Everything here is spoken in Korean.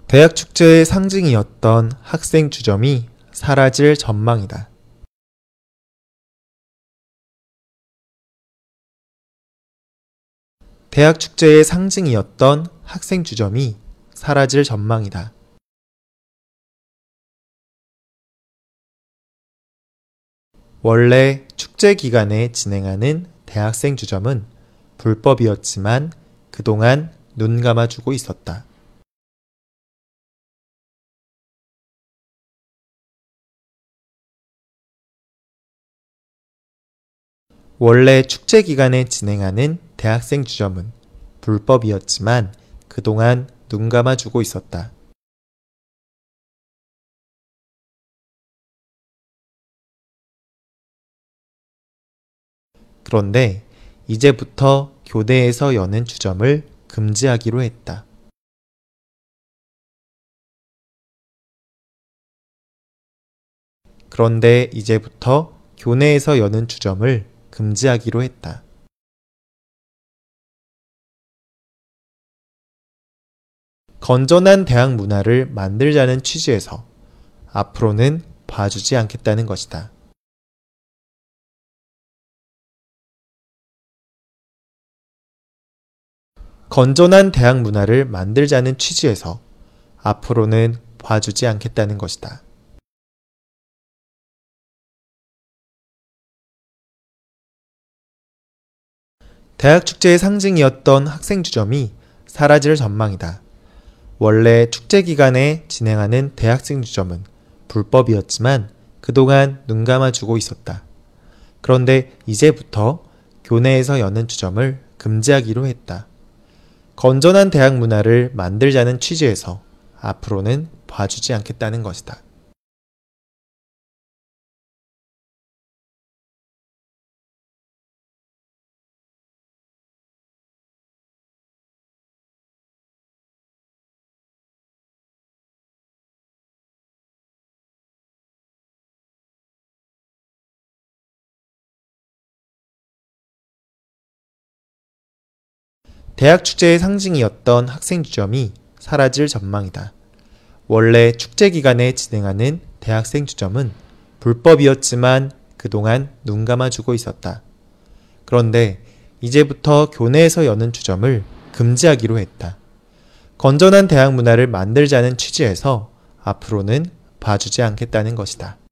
대학 축제의 상징이었던 학생 주점이 사라질 전망이다. 대학 축제의 상징이었던 학생 주점이 사라질 전망이다. 원래 축제 기간에 진행하는 대학생 주점은 불법이었지만 그동안 눈 감아주고 있었다. 원래 축제 기간에 진행하는 대학생 주점은 불법이었지만 그동안 눈 감아주고 있었다. 그런데 이제부터 교내에서 여는 주점을 금지하기로 했다. 그런데 이제부터 교내에서 여는 주점을 금지하기로 했다. 건전한 대학 문화를 만들자는 취지에서 앞으로는 봐주지 않겠다는 것이다. 건전한 대학 문화를 만들자는 취지에서 앞으로는 봐주지 않겠다는 것이다. 대학 축제의 상징이었던 학생 주점이 사라질 전망이다. 원래 축제 기간에 진행하는 대학생 주점은 불법이었지만 그동안 눈 감아주고 있었다. 그런데 이제부터 교내에서 여는 주점을 금지하기로 했다. 건전한 대학 문화를 만들자는 취지에서 앞으로는 봐주지 않겠다는 것이다. 대학 축제의 상징이었던 학생 주점이 사라질 전망이다. 원래 축제 기간에 진행하는 대학생 주점은 불법이었지만 그동안 눈 감아주고 있었다. 그런데 이제부터 교내에서 여는 주점을 금지하기로 했다. 건전한 대학 문화를 만들자는 취지에서 앞으로는 봐주지 않겠다는 것이다.